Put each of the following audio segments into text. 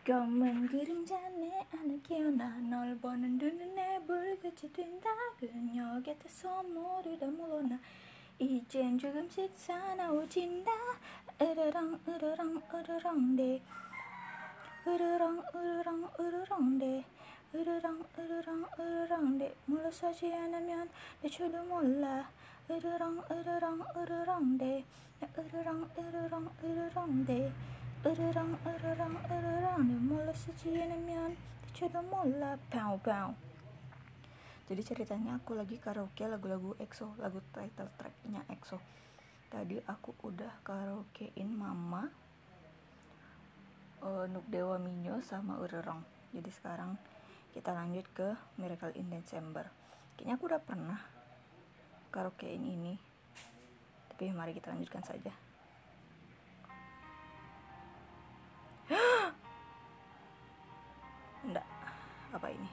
검은 그림자 내 안에 기어나 널 보는 눈에 불빛이 튄다. 그녀 곁에서 모르다 물러나 이젠 조금씩 사나워진다. 으르렁 으르렁 으르렁대 으르렁 으르렁 으르렁대 으르렁 으르렁 으르렁대 물러서지 않으면 내 줄도 몰라. 으르렁 으르렁 으르렁대 으르렁 으르렁 으르렁대 으르렁 으르렁 으르렁 물러서지 않으면 대체도 몰라. Pow pow. Jadi ceritanya aku lagi karaoke lagu-lagu EXO, lagu title tracknya EXO. Tadi aku udah karaokein Mama, Nuk Dewa Minyo sama Urerong. Jadi sekarang kita lanjut ke Miracle in December. Kayaknya aku udah pernah karaokein ini, tapi mari kita lanjutkan saja. Enggak, apa ini?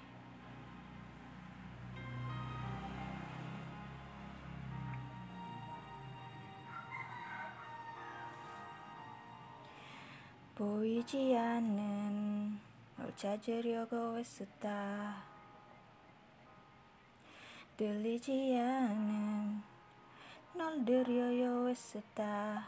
보이지 않는 널 찾으려고 애썼다. 들리지 않는 널 들으려 애썼다.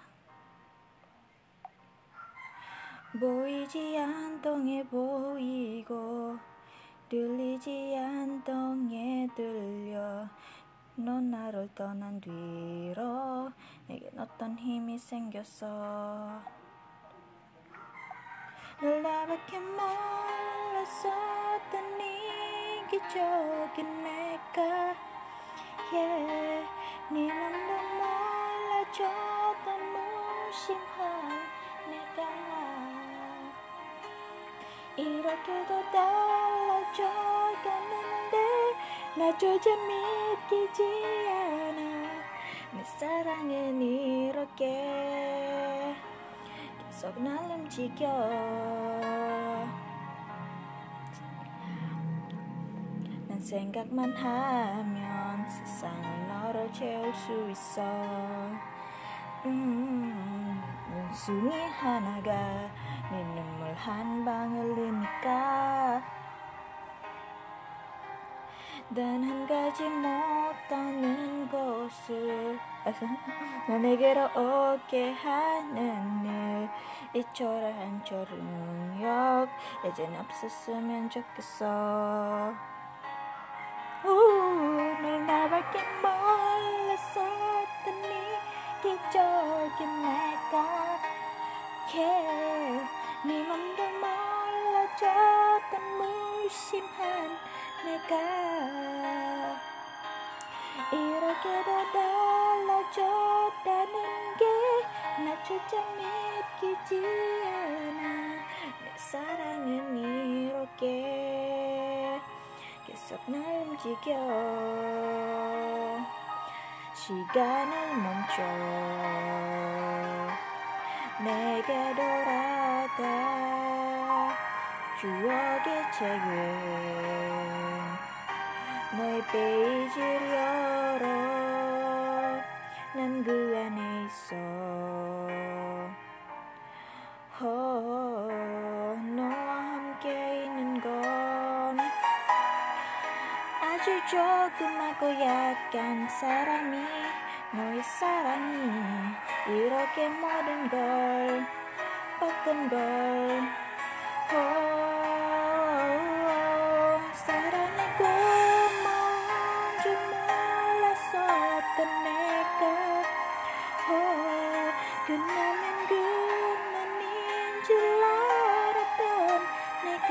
보이지 않동에 보이고 들리지 않동에 들려. 넌 나를 떠난 뒤로 내겐 어떤 힘이 생겼어. 널 나밖에 몰랐었던 이기적인 내가, yeah. 네 맘도 몰라줬던 무심한 내가 이렇게도 달라져가는데 나조차 믿기지 않아. 내 사랑은 이렇게 계속 날 움직여. 난 생각만 하면 세상을 너로 채울 수 있어. 눈송이 하나가 네 눈물 한 방울 흐르니까. 단 한 가지 못하는 것을 너 내게로 오게 하는 일, 이 초라한 초능력 이젠 없었으면 좋겠어. 널 나밖에 몰랐었던 이기적인 내가, yeah. 네 맘도 몰라줬던 무심한 내가 이렇게도 달라졌다는 게 나조차 믿기지 않아. 내 사랑은 이렇게 계속 날 움직여. 시간을 멈춰 내게 돌아가. 추억의 책은 너의 페이지를 열어. 난 그 안에 있어. 너와 함께 있는 건 아주 조그맣고 약한 사랑이, 너의 사랑이 이렇게 모든 걸 바꾼 걸. 사랑의 고마운 줄 몰랐었던 내가, 그나마 그만인 줄 알았던 내가,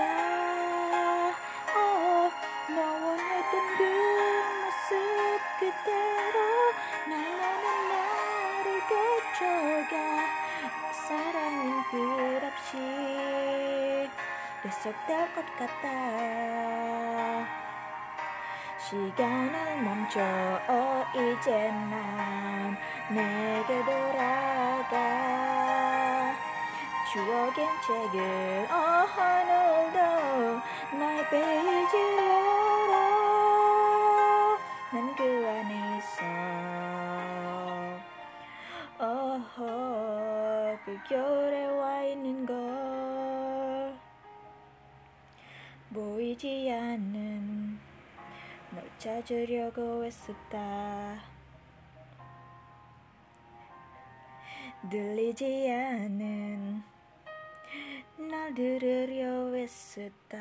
너와 했던 그 모습 그대로 날마다 나를 거쳐가. 사랑은 끝없이 계속될 것 같다. 시간을 멈춰 이제 난 내게 돌아가. 추억의 책을 오늘도 나의 페이지를 열어. 난 그 안에 있어. 그 겨울에 와 있는 걸 보이지 않는 널 찾으려고 애썼다. 들리지 않는 날 들으려 애썼다.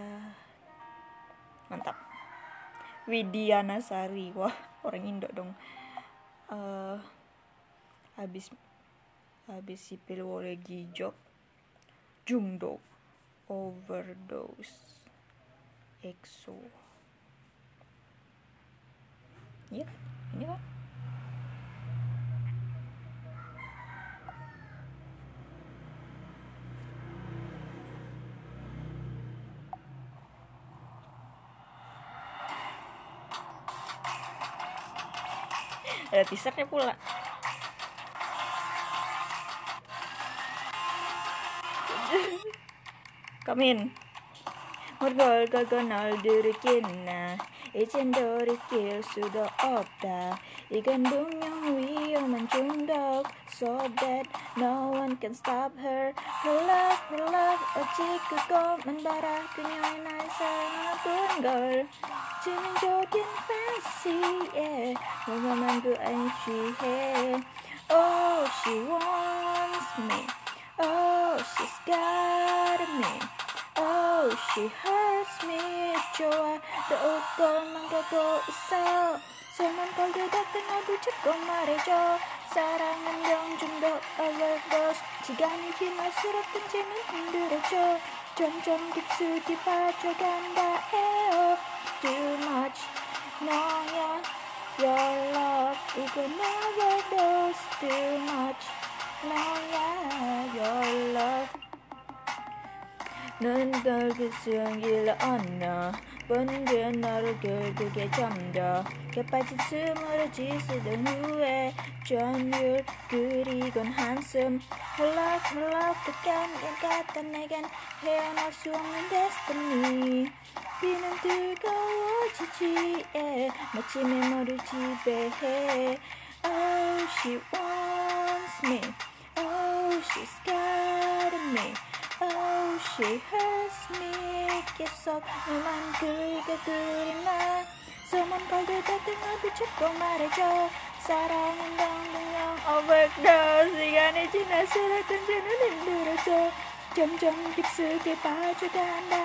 Mantap. Widiana Sari, wah orang Indo dong. Habis sipil lagi job Jungdok overdose EXO. Iya kan? Ini kan? Ada teasernya pula. Come in. Morgol gaganal 들이겠나 이젠 돌이킬 수도 없다. 이 감동형 위험한 중독 so that no one can stop her. Her love 오직 그것만 바라. 그녀의 날 사랑하던 걸 치명적인 fancy 너만 그 안에 취해. Oh she wants me. Oh she's got me. Oh she hurts me. 좋아 또 웃고만 가고 있어. 손만 걸려닿던 너도 자꾸 말해줘. 사랑은 병중독 overdose. 시간이 지날수록 던지는 힘들어져. 점점 깊숙이 빠져간다 해요. Too much 너야 your love 이건 overdose. Too much 너야 your love. 넌 결국 숨길러 언어 번개 너를 결국에 잠겨 개빠진 숨으로 지새던 후에 전율 그리곤 한숨 Her love 끝간 같던 내겐 헤어날 수 없는 destiny. 비는 뜨거워지지 마치 메모를 지배해. Oh she wants me. Oh she's got me. Oh she hurts me. 계속 너만 그리나 손만 걸려닿던 너도 자꾸 말해줘. 사랑은 당분간 overdose. 시간이 지날수록 던지는 힘들어져. 점점 깊숙이 빠져간다.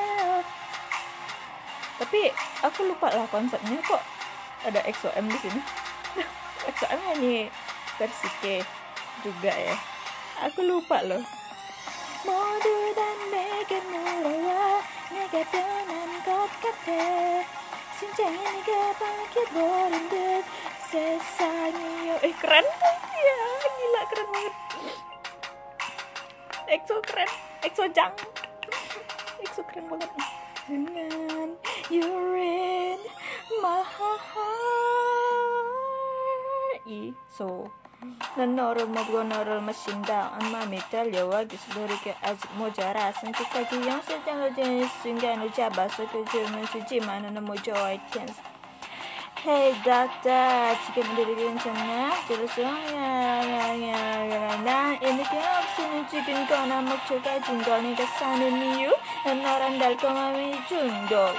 Tapi aku lupa lah konsepnya, kok ada EXO-M di sini. EXO-M nyanyi versi K juga ya. Aku lupa loh. 모두 다 내게 물어와 내가 변한 것 같아. 심장이 네가 바뀌어버린 듯 세상이여. Keren ya, gila keren banget. EXO keren, EXO jang. EXO keren banget. Dengan you're in my heart. So 난 너를 먹고 너를 마신다. 마음이 달려와 기술이게 아직 모자라. 선택하기 영실장을 지는 순간을 잡아서 그 줌을 주지만 난 너무 좋아. I can't. Hey doctor, 지금 들이 괜찮나? 저러서야 난 이 느낌 없이는 죽은 거나 먹혀가진 걸 네가 사는 이유. 난 너란 달콤함이 중독.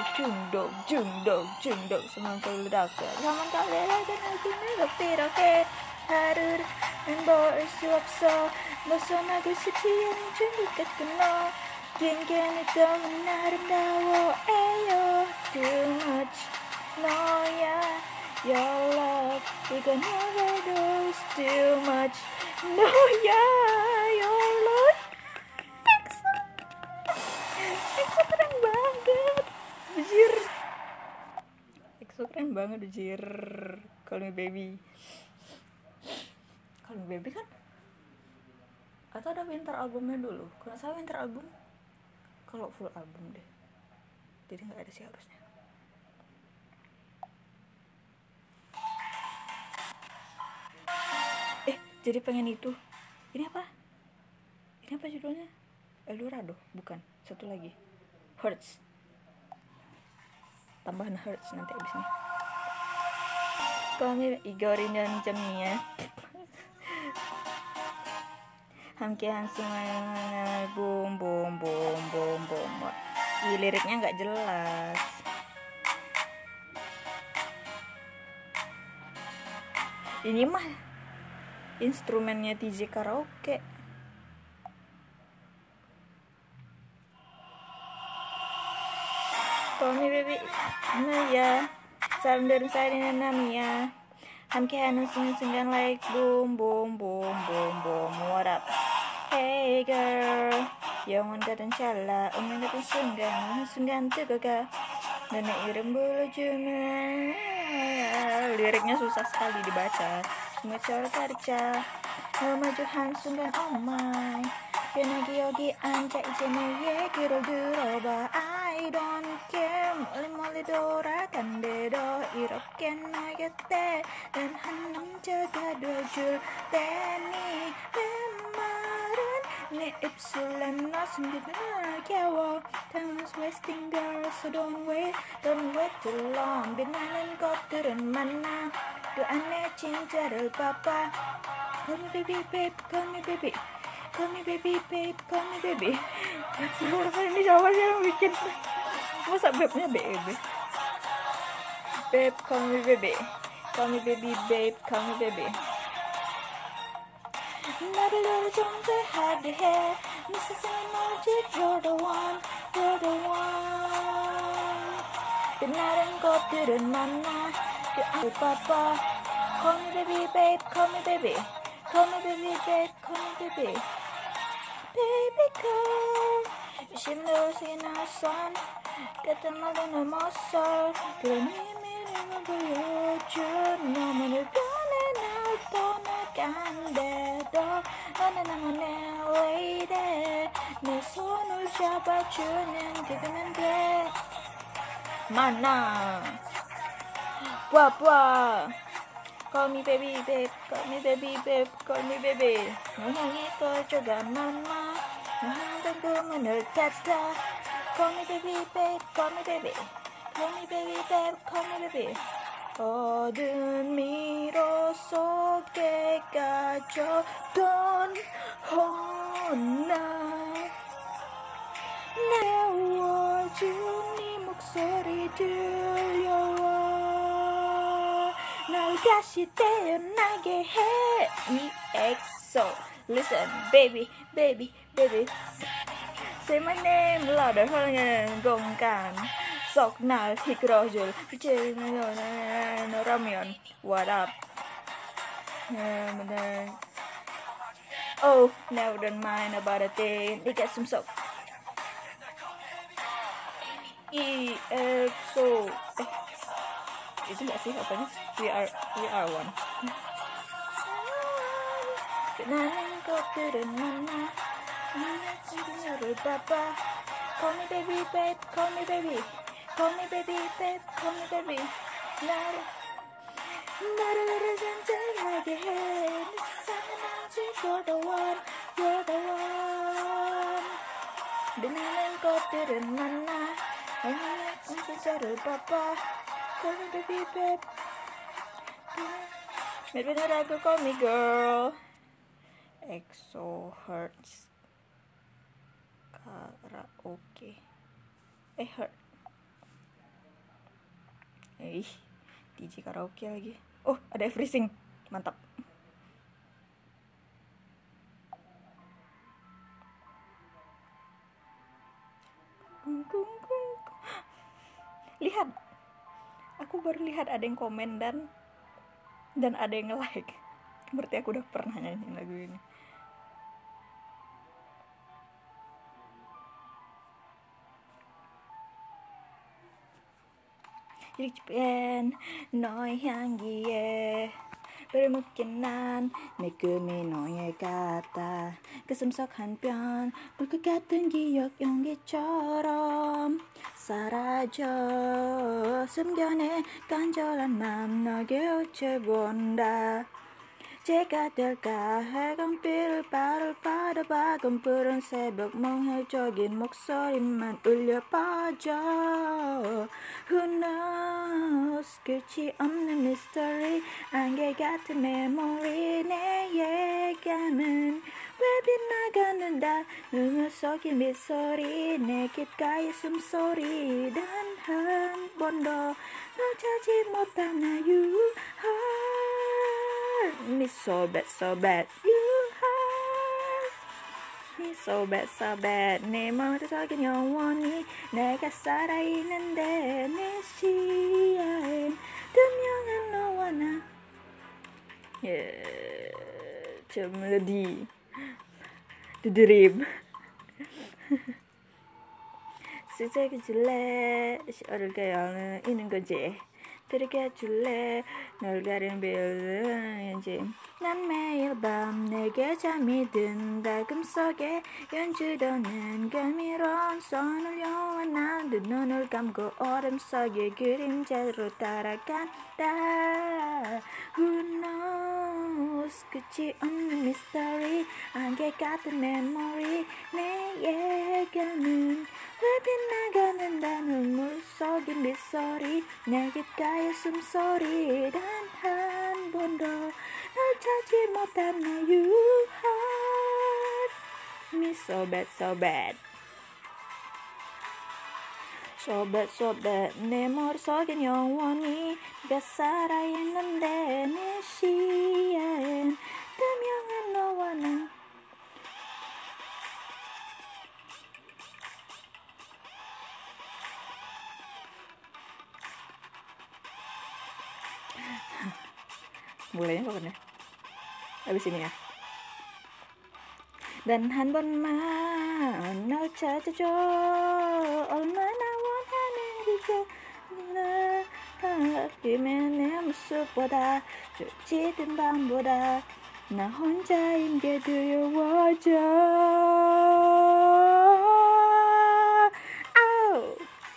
Semang 걸려닿고 사만 갈래라도 느낌을 이렇게 하루를 볼 수 없어. 벗어나고 싶지 않은 중독 같은 너. 괜찮이 너무 아름다워. 에요 too much 너야 your love 이건 overdose. Too much 너야 your love. EXO keren banget bejir. EXO keren banget bejir. Call me baby. Call me baby kan? Atau ada winter albumnya dulu? Kalau saya winter album, kalau full album deh. Jadi nggak ada sih harusnya. Jadi pengen itu. Ini apa judulnya? Eldorado? Bukan. Satu lagi. Hurts. Tambahan Hurts nanti abisnya. Kami Igorin dan jamnya. 함께 한숨을 boom. 이 liriknya nggak jelas. Ini mah instrumennya TJ Karaoke. Call me baby, Naya. Salam dari saya dengan Namia. 함께 하는 순간 like boom boom boom boom boom. What up? Hey girl, 영원 같은 찰나, 운명 같은 순간, 어느 순간 뜨거가 너의 이름 불러주면. Liriknya susah sekali dibaca. Semua cara 가르쳐. 너 마주 한 순간, oh my. 편하게 여기 앉아 이제 내 얘기를 들어봐. I don't care. 멀리 돌아간대도 이렇게 너 곁에 난 한 남자가 돼줄 테니. 내 말은 내 입술에 너 숨기면 아껴워. Time is wasting girl, so don't wait too long. 빛나는 것들은 많아. 그 안에 진짜를 봐봐. Call me baby, babe, call me baby. Call me baby, babe, call me baby. Ini siapa sih yang bikin? Masa babe-nya BEB? Babe, call me baby. Call me baby, babe, call me baby. 나를 너를 존재하게 해. 네 세상은 오직 you're the one, you're the one. 빛나는 것들은 많아. 그 안을 봐봐. Call me baby, babe, call me baby. Call me baby, babe, call me baby. Baby girl, 심도시 낯선 같은 말도 모습. 그런 이미를 보여줘. 너만을 변해 날 떠나간대도 너는 나만의 lady. 내 손을 잡아주는 그대면 돼. 만나 부아 Call me baby, babe, call me baby, babe, call me baby. 너 향해 꺼져가 맘마. 너 항상 그 문을 닫아. Call me baby, babe, call me baby. Call me baby, babe, call me baby. 어두운 미로 속에 가져던 혼나. 내워준 네 목소리 들려와. 날 다시 태어나게 해. EXO. Listen, baby, baby, baby. Say my name louder hơn gồm cản. Sọc nào thì crojul. Chơi nó Ramion. What up? Oh, now don't mind about a thing. They get some soap. EXO. Itu nggak sih apanya? We are one. Kenangan 것들은 많아. 너를 봐봐. Call me baby, babe, call me baby. Call me baby, babe, call me baby. 나를 잔잔하게 해. 네 세상은 아직 you're the one, you're the one. 빛나는 것들은 많아. 너의 진짜를 봐봐. Call me baby, babe. Maybe not I could call me girl. EXO Hurts Karaoke. Hurt. DJ Karaoke lagi. Oh, ada everything. Mantap. Lihat. Aku baru lihat ada yang komen dan ada yang nge-like. Berarti aku udah pernah nyanyiin lagu ini. 일주일엔 너의 향기에 뼈를 묶인 난 내 꿈이 너의 같아. 가슴 속 한편 불꽃 같은 기억 연기처럼 사라져. 숨겨내 간절한 맘 너에게 우체본다. 제가 될까 해강빛을 바라봐. 검푸른 새벽 멍해적인 목소리만 울려 퍼져. Who knows 끝이 없는 mystery. 안개 같은 메모리 내 예감은 왜 빗나가는다 눈물 속인 빗소리 내 귓가에 숨소리 단 한 번도 널 찾지 못한 나 You hurt me so bad so bad You hurt me so bad so bad 내 머릿속엔 영원히 내가 살아있는데 내 시야엔 투명한 너와 나 저 멜로디 The Dream 시작해 줄래 어딜까 영은 있는 거지 들게 줄래 널 가린 빌런인지 난 매일 밤 내게 잠이 든다 꿈속에 연주도는 감미로운 손을 요한나 두 눈을 감고 어둠 속의 그림자로 따라간다 Who knows 끝이 없는 미스터리 안개 같은 메모리 내 예감은 왜 빗나가는다 눈물 속인 빗소리 내 귓가에 숨소리 단 한 번도 널 찾지 못한 나 You hurt me so bad so bad So bad so bad 내 머릿속엔 영원히 네가 살아있는데 내 시야엔 투명한 너와 나 mulainya kapan ya? Abis ini ya. Dan 한 번만 날 찾아줘 얼마나 원하는지 하면 내 모습보다 젖은 밤보다 나 혼자인 게 두려워져 아우.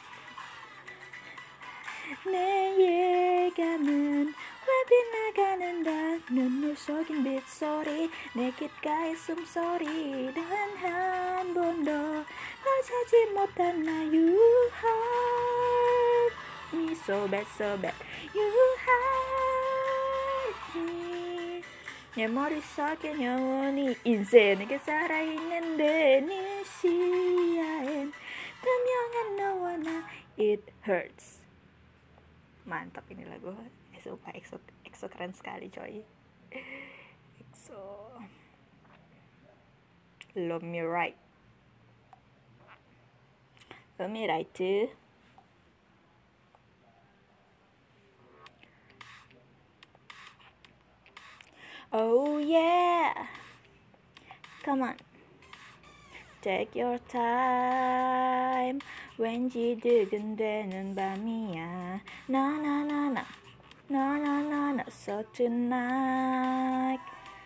내 예감은 빗나가는다 눈물 속인 빗소리 내 귓가에 숨소리 단 한 번도 널 찾지 못한 나 You hurt me so bad so bad You hurt me 내 머릿속엔 영원히 인생 내게 살아있는데 네 시야엔 투명한 너와 나 It hurts. Mantap ini lagu. Sumpah EXO keren sekali coy. EXO Love Me Right Love Me Right too. Oh yeah, come on, take your time. 왠지 두근대는 밤이야. 나나나나 Na na na na so tonight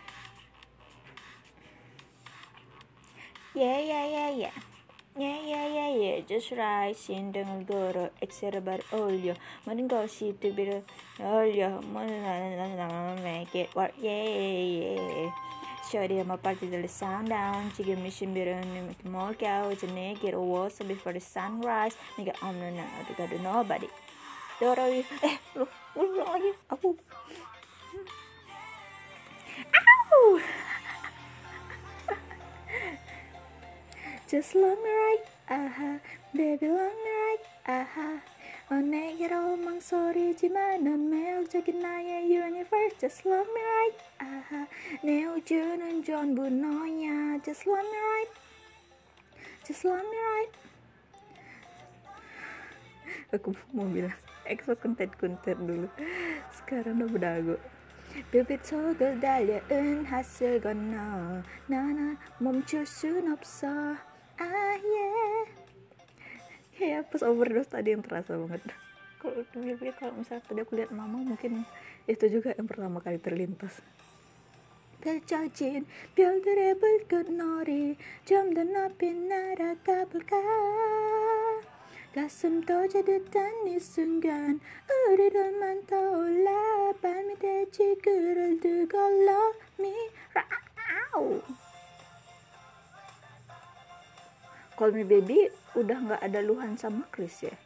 Yeah yeah yeah yeah Yeah yeah yeah yeah just right 신등을 걸어 엑셀을 올려 모든 것이 두비를 올려 make it work yeah yeah Shorty I'm a party till the sundown 지금 이 신비로운 뭘까 이제 내게로 와서 before the sunrise 네가 없는 날 어디 가도 nobody Dorowi ulang lagi aku Just love me right aha baby love me right aha 내게로 망설이지만 넌 매력적인 나의 universe Just love me right aha 내 우주는 전부 너야 Just love me right Just love me right aku mau bilang EXO kuntet dulu sekarang udah berdagu 빛빛 속을 달려은 하늘 건너 나나 멈출 순 없어 ah yeah kayak pas overdose tadi yang terasa banget kalau misalnya tadi aku lihat mama mungkin itu juga yang pertama kali terlintas 펼쳐진 별들의 불꽃놀이 좀 더 높이 날아가 볼까 가슴 터지듯한 이 순간 우리 둘만 떠올라 발밑에 지구를 두고 love me right Call Me Baby udah gak ada Luhan sama Chris ya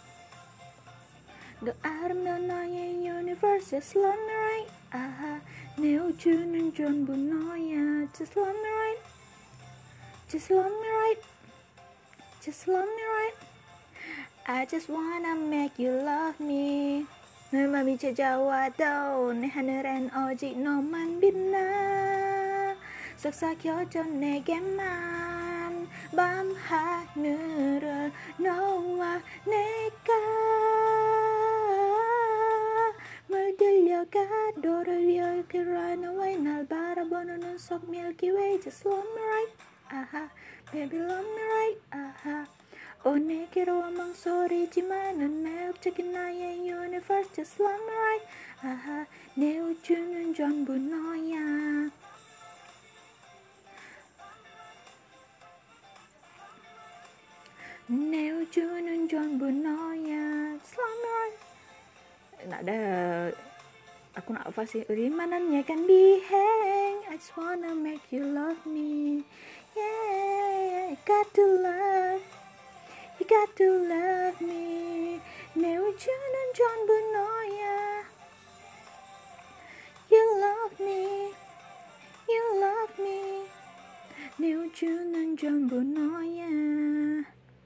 The atom the night universe is love me right aha 내 우주는 전부 너야. Just love me right. Just love me right. Just love me right. I just wanna make you love me. 널 맘이 찾아와도 내 하늘엔 오직 너만 빛나. 싹싹여져 내게만 밤하늘을 너와 내가 물들려가 너를 위해 이렇게 run away. 날 바라보는 눈 속 Milky Way. Just love me right. 아하, baby love me right. 아하. 내게로 망설이지만 넌 매력적인 나의 universe. Just love me right. 아하, 내 우주는 전부 너야. 내 우주는 전부 너야. Just love me right. Nggak ada, aku nak apa sih? Rimanannya kan biheng. I just wanna make you love me. Yeah, you got to love. You got to love me. 내 우주는 전부 너야. You love me. You love me. 내 우주는 전부 너야.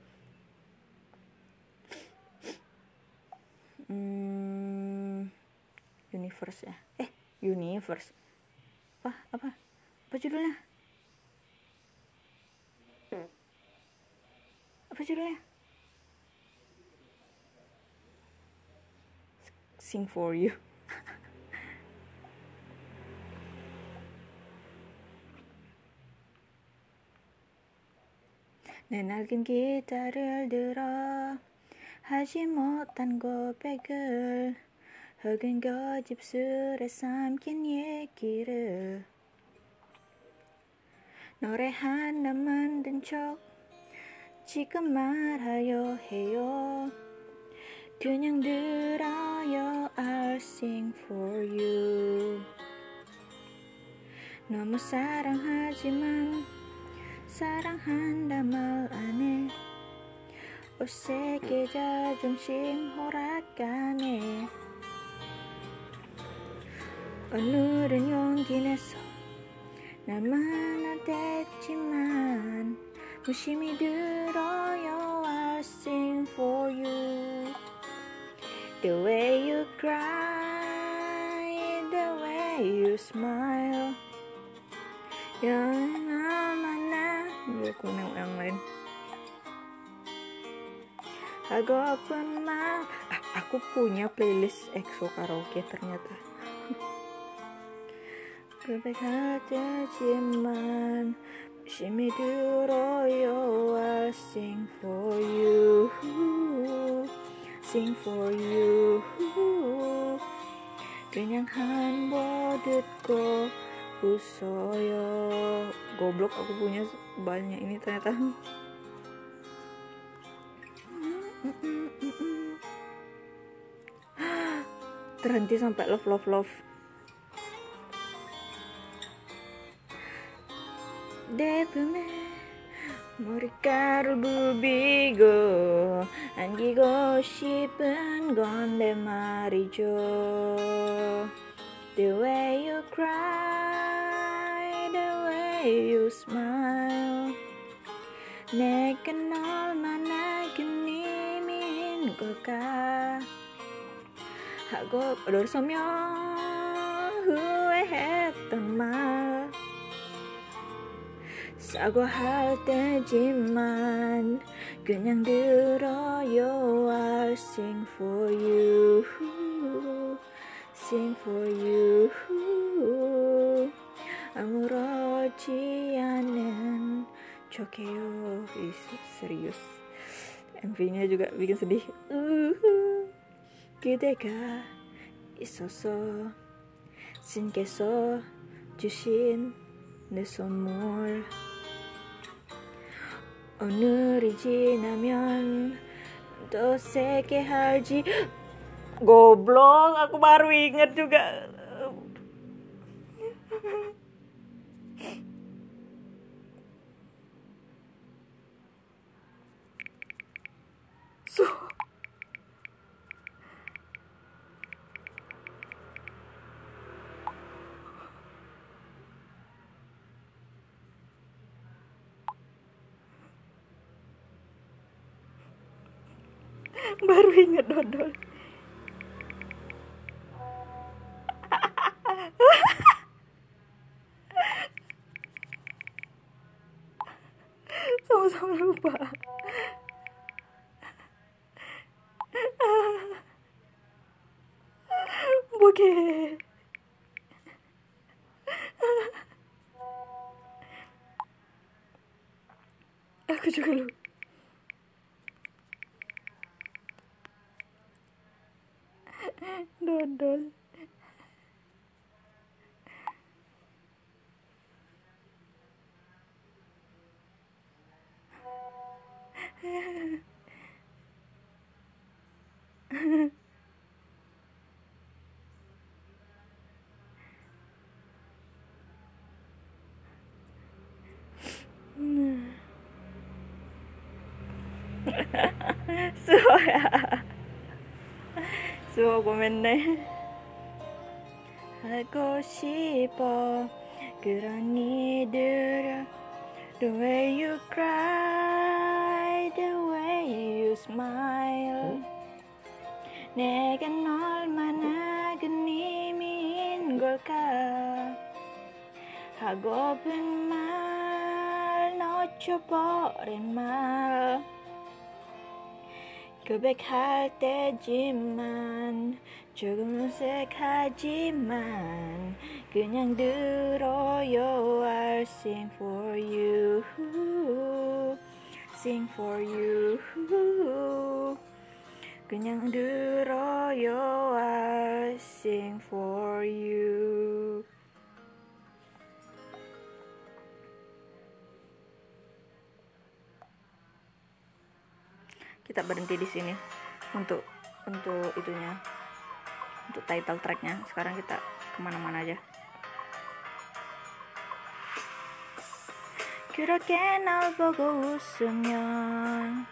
Universe ya. Universe. Apa judulnya? Apa judulnya? Sing for you. 내 낡은 기타를 들어 하지 못한 고백을 흙은 고집술에 삼킨 얘기를 노래 하나 만든 척 지금 말하려 해요. 그냥 들어요. I'll sing for you. 너무 사랑하지만 사랑한다 말 안 해. 어색해 자존심 허락하네. 오늘은 용기 내서 나만 됐지만 무심히 들어요. I'll sing for you. The way you cry, the way you smile. Yang mana? Aku nengok yang lain. Hagopen mal. Aku punya playlist EXO karaoke ternyata. 고백하지만 심히 들어요. I'll sing for you. Sing for you. 그냥 한 번 듣고 웃어요. Goblok, aku punya banyak ini ternyata. Terhenti sampai love. 내 품에 머리카락을 부비고 안기고 싶은 건데 말이죠. The way you cry, the way you smile. 내가 얼마나 그님인 걸까 하고 돌서며 후회했던 말. 사과할 때지만 그냥 들어요. I'll sing for you. Sing for you. 아무렇지 않은 척해요. serius. MV-nya juga bikin sedih. 그대가 있어서 신께서 주신 내 선물. 오늘이 지나면 더 세게 할지. Goblok, aku baru inget juga. Baru ingat dodol. Sama-sama lupa. Bokeh. Aku juga lupa. Dodol. 수호 고맙네. 하고 싶어 그런 이들을 the way you cry, the way you smile. 내겐 얼마나 큰 힘인 걸까. 하고픈 말 놓쳐버린 말 고백할 때지만 조금 어색하지만 그냥 들어요. I'll sing for you, sing for you. 그냥 들어요. I'll sing for you. Kita berhenti di sini untuk itunya, untuk title tracknya. Sekarang kita kemana-mana aja. 그렇게 날 보고 웃으면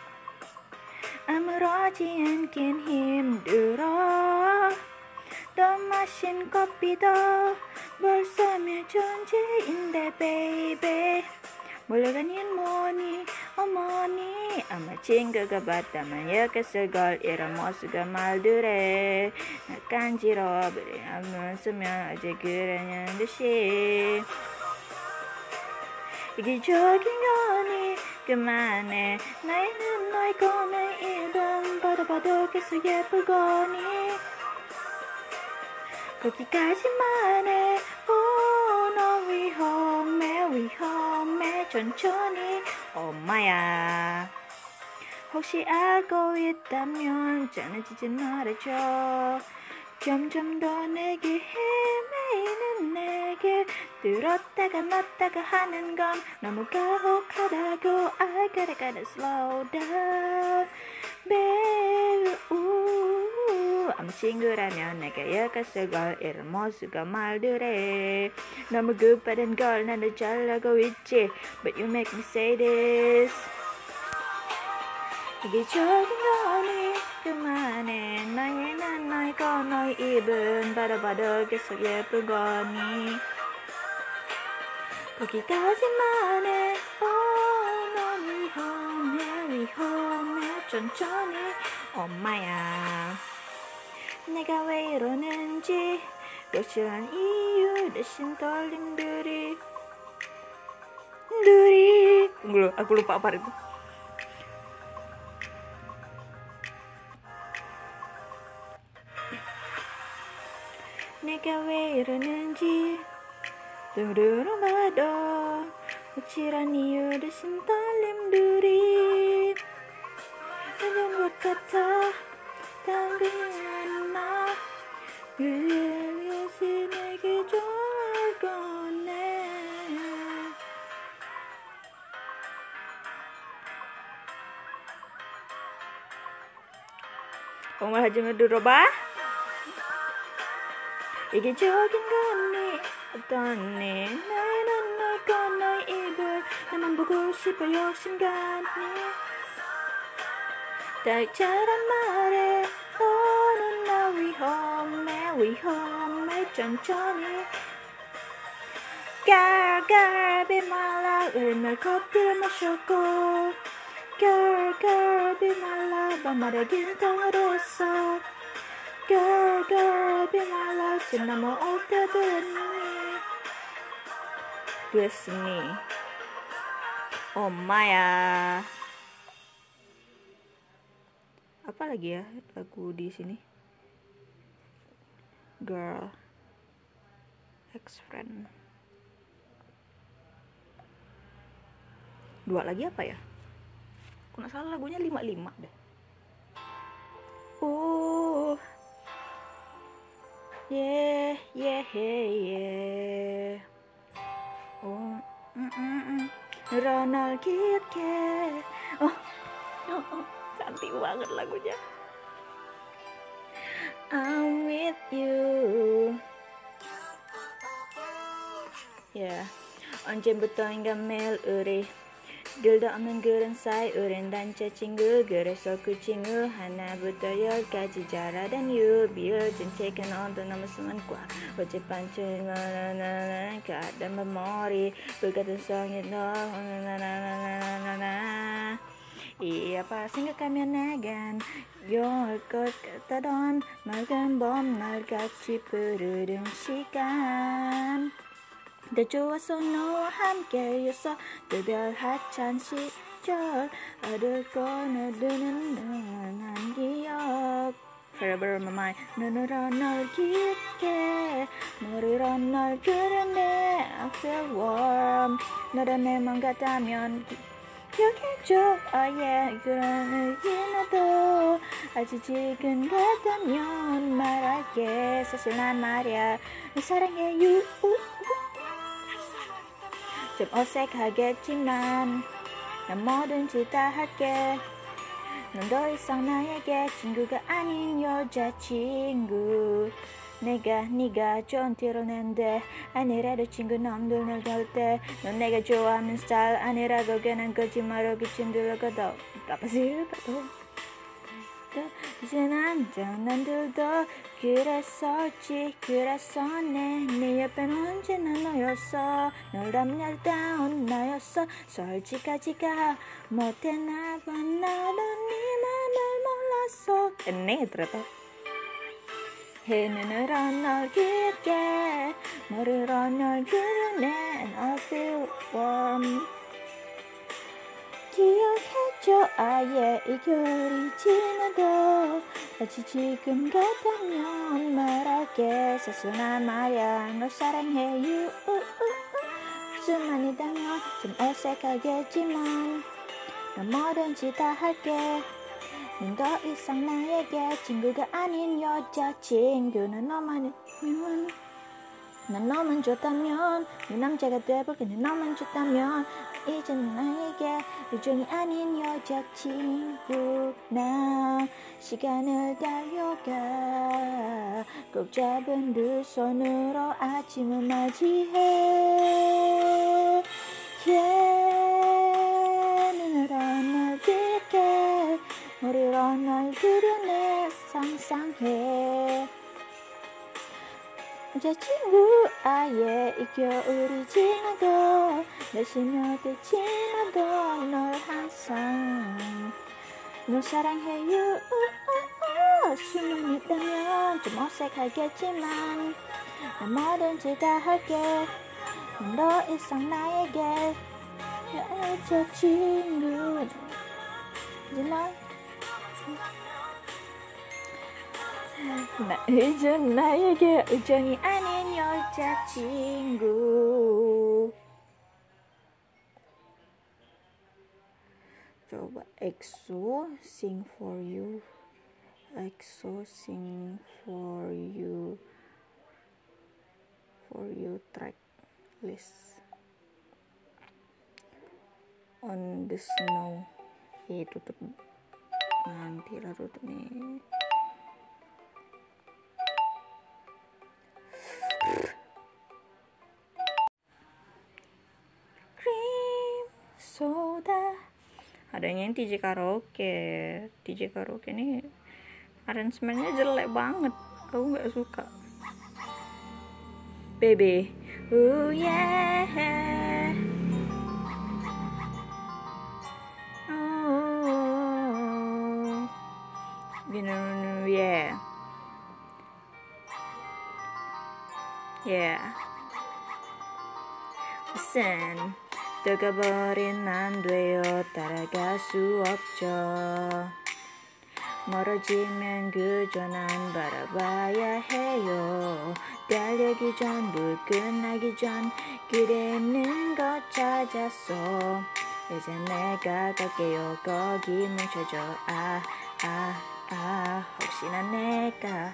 아무렇지 않긴 힘들어. 더 마신 커피도 벌써 내 존재인데 baby. 몰려다닌 뭐니 어머니 아마 친구가 봤다면 욕했을걸. 이런 모습과 말들에 나 간지러워. 안 쓰면 어제 그러냐는 듯이 이기적인 거니 그만해. 나이는 너이고 내 입은 봐도 계속 예쁘거니 거기까지만 해. 너 위험해 천천히 엄마야. 혹시 알고 있다면 전해지지 말아줘. 점점 더 내게 헤매이는 내게 들었다가 놨다가 하는 건 너무 가혹하다고. I gotta slow down baby. 아무 친구라면 내가 욕했을걸. 이런 모습과 말들에 너무 급하단 걸 나도 잘 알고 있지. But you make me say this. 이기적인 거니 그만해. 나이는 너이고 너의 입은 봐도 계속 예쁜 거니 거기까지만 해. 너 위험해 천천히 엄마야. 내가 왜 이러는지 확실한 이유 대신 떨림들이 aku lupa apa itu. 내가 왜 이러는지 들어봐도 확실한 이유 대신 떨림들이 이런 것 같아. 당근은 나 그래서 내게 좋을 거네. 정말 하지만 들어봐. 이기적인 거니 어떠니. 나는 너과 너의 입을 나만 보고 싶어 욕심같니. 딸처럼 말해. 너는 나 위험해 천천히. Girl be my love. 날 커피를 마셨고 Girl, girl, be my love, 밤마다 긴통으로 써. Girl, girl, be my love, 지나면 올 때도 됐으니 엄마야. Apa lagi ya lagu di sini? Girl, ex-friend. Dua lagi apa ya? Aku nggak salah lagunya 55 deh. Yeah, yeah, yeah. Ronald Kitke. Cantik banget lagunya. I'm with you. Yeah. 언제부터 인간매일 우리 길도 없는 그런 사이 우린 단체 친구. 그래서 그 친구 하나부터 10까지 잘하던 you. 비어진 책은 언더 넘었으면 꽉 어젯밤쯤 나나나나 가던 머리 불같은 성이 너 나나나나나나 이 아파 생각하면 나간 용할 것 같다던 맑은 봄날같이 푸르른 시간 더 좋았어 너와 함께였어 그별 하찮은 시절 어딜 꺼내드는 난 기억 Forever my mind 눈으로 널 깊게 머리로 널 그려내 I feel warm 너란 내 맘 같다면 기억해줘 oh yeah 그런 의미나도 아직 지금 같다면 말할게 사실 난 말야 사랑해 you 좀 어색하겠지만 난 뭐든지 다 할게 넌 더 이상 나에게 친구가 아닌 여자친구 네가 좋은 티를 낸데 아니래도 친구 놈들 널 덜 때 넌 내가 좋아하는 스타일 아니라고 괜한 거짓말로 기침 들어가도 apa sih 이제 남들도 그랬었지 그래서 네 옆엔 언제나 너였어 널 담을 다운 나였어 솔직하지가 못했나 봐 나도 네 맘을 몰랐어 네 ternyata 눈으로 널 깊게 머리로 널 그려내 and I feel warm 기억해줘 아예 이 겨울이 지나도 아직 지금 같다면 말할게 사소한 말야 널 사랑해 you 수만이다면 좀 어색하겠지만 난 뭐든지 다 할게 넌 더 이상 나에게 친구가 아닌 여자친구 난 너만 좋다면 네 남자가 돼볼게 난 너만 좋다면 이젠 나에게 요정이 아닌 여자친구 나 시간을 달려가 꼭 잡은 두 손으로 아침을 맞이해 눈으로 널 깊게 머리로 널 그려내 상상해 여자친구 아예 이 겨울이 지나도 날씨며 지나도 널 항상 널 사랑해 you 수만 있다면 좀 어색하겠지만 난 뭐든지 다 할게 넌 더 이상 나에게 여자친구 이제 나에게 우정이 아닌 여자친구 coba EXO sing for you EXO sing for you track list on the snow tutup nanti lah tutup nih cream soda adanya yang DJ karaoke nih arrangementnya jelek banget aku nggak suka baby yeah oh Yeah. 우선 뜨거버린 안 돼요. 따라갈 수 없죠. 멀어지면 그저 난 바라봐야 해요. 달리기 전, 불 끝나기 전 길에 있는 것 찾았어. 이제 내가 갈게요. 거기 멈춰줘. 혹시나 내가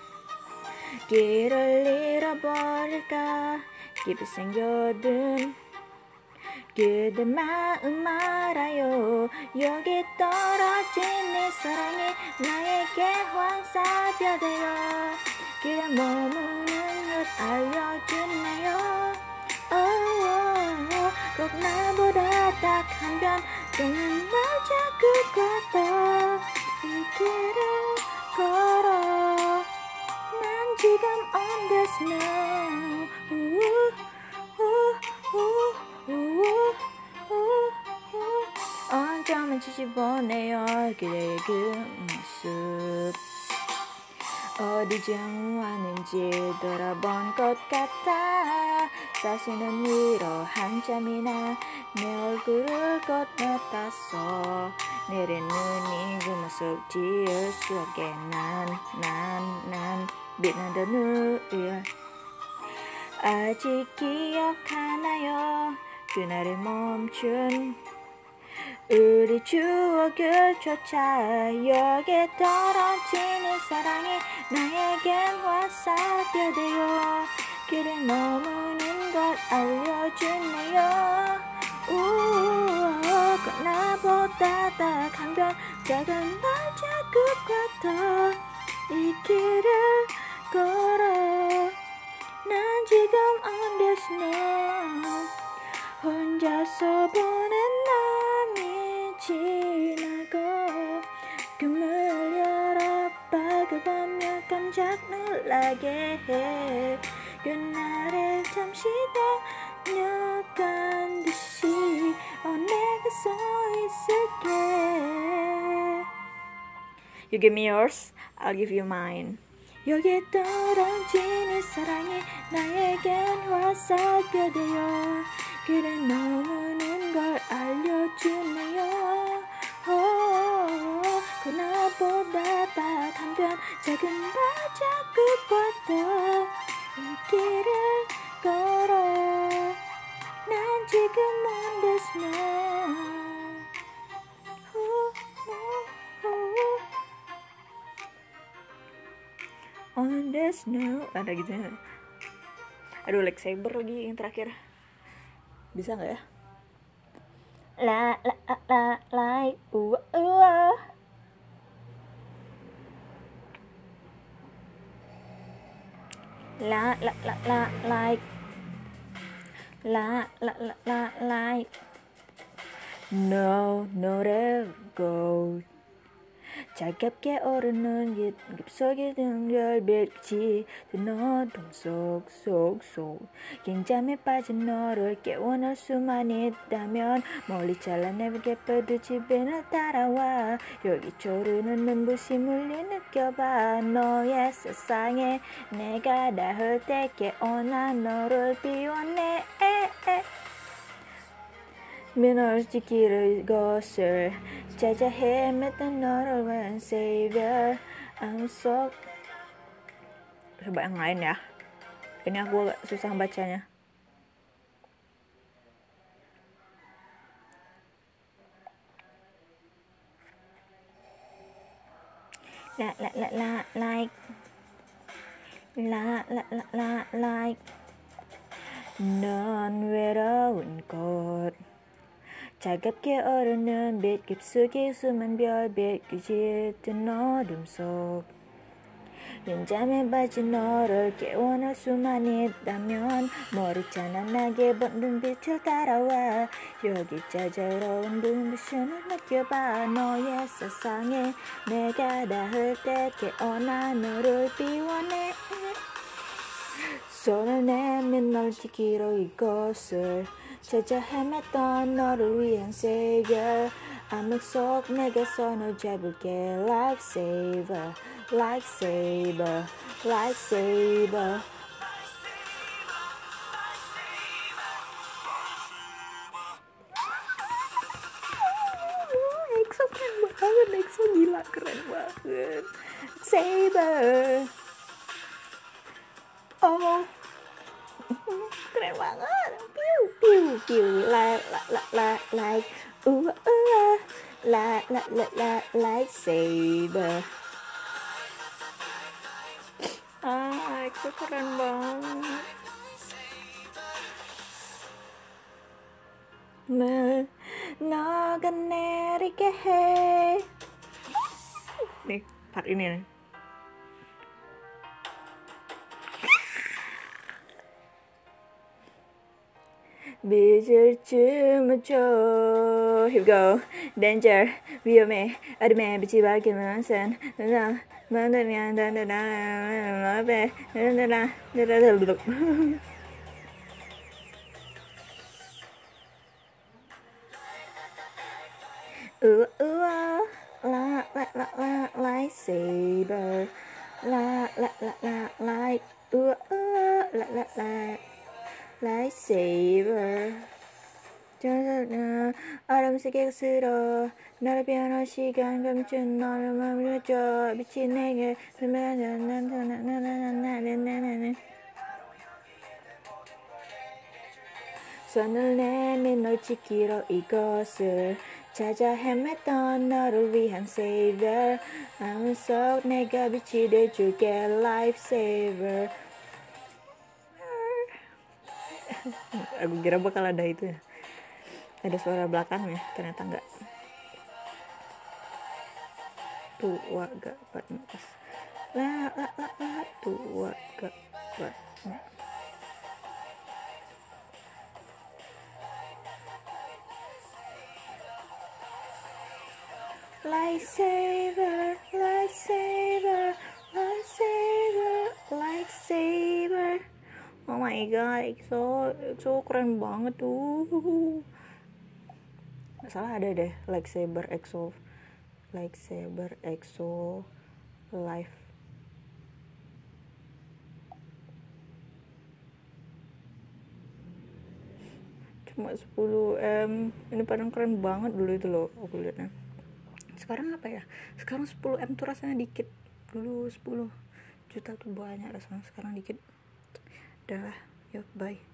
길을 잃어버릴까 깊이 생겨든 그대 마음 알아요. 여기 떨어진 네 사랑이 나에게 황사되어요. 길에 머무는 것 알려주네요. 꼭 나보다 딱 한 편 또는 날 자꾸 걷어 이 길을 걸어. 난 지금 on the snow. 언제만 지지보네요. 그대의 그 모습 어디 정왔는지 돌아본 것 같아. 사시는 위로 한참이나 내 얼굴을 건너탔어. 내린 눈이 그 모습 지울 수 없게 난 빛나던 우릴 아직 기억하나요? 그날을 멈춘 우리 추억을 쫓아 여기에 떨어지는 사랑이 나에겐 화살표되어 길에 머무는 걸 알려주네요. 꼭 나보다 딱 한 편 작은 발자국과 이 길을 걸어. 난 지금 on the snow. 혼자서 보낸 남이 지나고 꿈을 열어 바라보며 깜짝 놀라게 해. 그날에 잠시 다녀간 듯이 내가 서 있을게. You give me yours, I'll give you mine. 여기에 떨어진 이 사랑이 나에겐 화살표되어 길에 머무는 걸 알려주네요. 그나보다 딱 한 편 작은 발자국보다 이 길을 걸어. 난 지금 on the snow. On the snow. Ada gitu ya. Aduh, lightsaber lagi yang terakhir. Bisa nggak ya? La like like no go. 차갑게 오르는 깊숙이 든 별빛이 든 어둠 속 긴장에 빠진 너를 깨워낼 수만 있다면 멀리 잘라내게 뻗으집에 날 따라와. 여기 조르는 눈부심을 느껴봐. 너의 세상에 내가 닿을 때 깨어나 너를 비워내. 민을 지키는 것을 찾아 헤맸던 너를 위한 savior. I'm so. Coba yang lain ya. Ini aku agak susah bacanya. Like 넌 외로운 곳 차갑게 오르는 빛 깊숙이 숨은 별빛 깃든 어둠 속 연잠에 빠진 너를 깨워낼 수만 있다면 머리 찬란하게 번든 빛을 따라와. 여기 짜잘로운 눈부심을 느껴봐. 너의 세상에 내가 닿을 때 깨어나 너를 비워내. 손을 내민 널 지키러 이곳을 찾아 헤맸던 너를 위한 savior. 암흑속 내게서 널 잡을게 Lightsaber Lightsaber Lightsaber EXO keren banget, EXO gila keren banget. Saber, oh keren banget. Piu piu piu, like like saber. EXO keren banget. 너가 내리게 해. nih part ini nih. 빛을 춤을 춰. Here we go. Danger 위험해. 어둠에 빛이 밝히는 선. 나 만나면 나나나 앞에 나나나 나나나. Lightsaber, lightsaber. 아름 세계가 쓸어 나를 변한 시간 감춘 너를 멈춰 미친 내게 손을 내밀 널 지키러 이곳을 찾아 헤맸던 너를 위한 savior 마음 속 내가 빛이 돼줄게 lifesaver. Aku kira bakal ada itu ya, ada suara belakangnya, ternyata enggak. Tua gak panas la tua gak panas. Lightsaber, lightsaber, lightsaber, lightsaber. Oh my god, EXO keren banget tuh. Nggak salah ada deh lightsaber EXO live. Cuma 10M. Ini padahal keren banget dulu itu loh aku liatnya. Sekarang apa ya? Sekarang 10M tuh rasanya dikit. Dulu 10 juta tuh banyak rasanya, sekarang dikit. Udah lah, yuk bye.